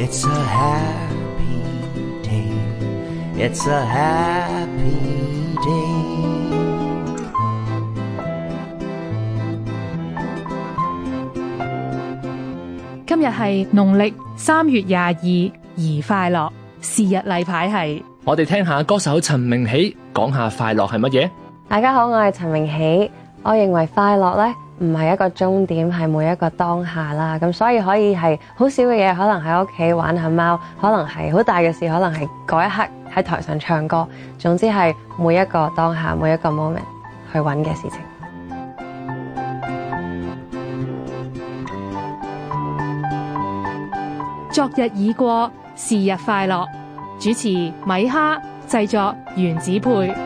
It's a happy day. It's a happy day. 今日係農曆3月22，宜快樂。是日例牌係， 我哋聽下歌手陳明喜講下快樂係乜嘢。 大家好，我係陳明喜。我認為快樂呢唔係一個終點，係每一個當下啦。咁所以可以係好少嘅嘢，可能喺屋企玩下貓，可能係好大嘅事，可能係嗰一刻喺台上唱歌。總之係每一個當下，每一個 moment 去揾嘅事情。 昨日已過，是日快樂。主持米哈，製作原子配。